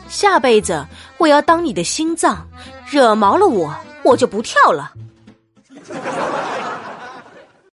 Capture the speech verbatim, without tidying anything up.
下辈子我要当你的心脏，惹毛了我，我就不跳了。